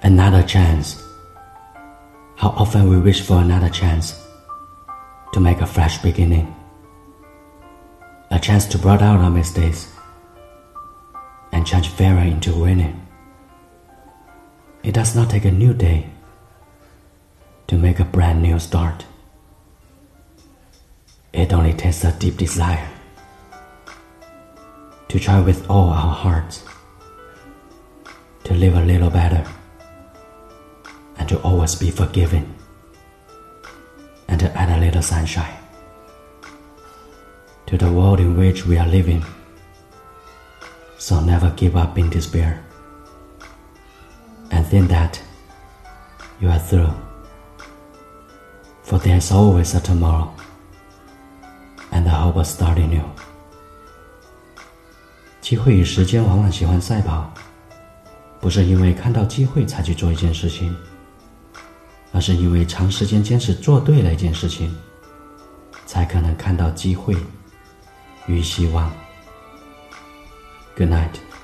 Another chance. How often we wish for another chance to make a fresh beginning, a chance to blot out our mistakes and change failure into winning. It does not take a new day to make a brand new start. It only takes a deep desire to try with all our hearts to live a little better and to always be forgiving and to add a little sunshine to the world in which we are living. So never give up in despair and think that you are through, for there is always a tomorrow and the hope of starting new. 机会与时间往往喜欢赛跑，不是因为看到机会才去做一件事情，而是因为长时间坚持做对了一件事情，才可能看到机会与希望。Good night.